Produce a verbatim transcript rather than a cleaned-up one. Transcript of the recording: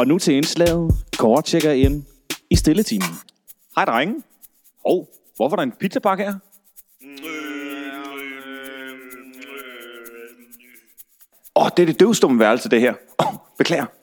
Og nu til indslaget. Kåre tjekker ind i stilletimen. Hej drenge. Hov, hvorfor er der en pizzapakke her? Åh, oh, det er det døvstumme værelse, det her. Åh, oh, beklager.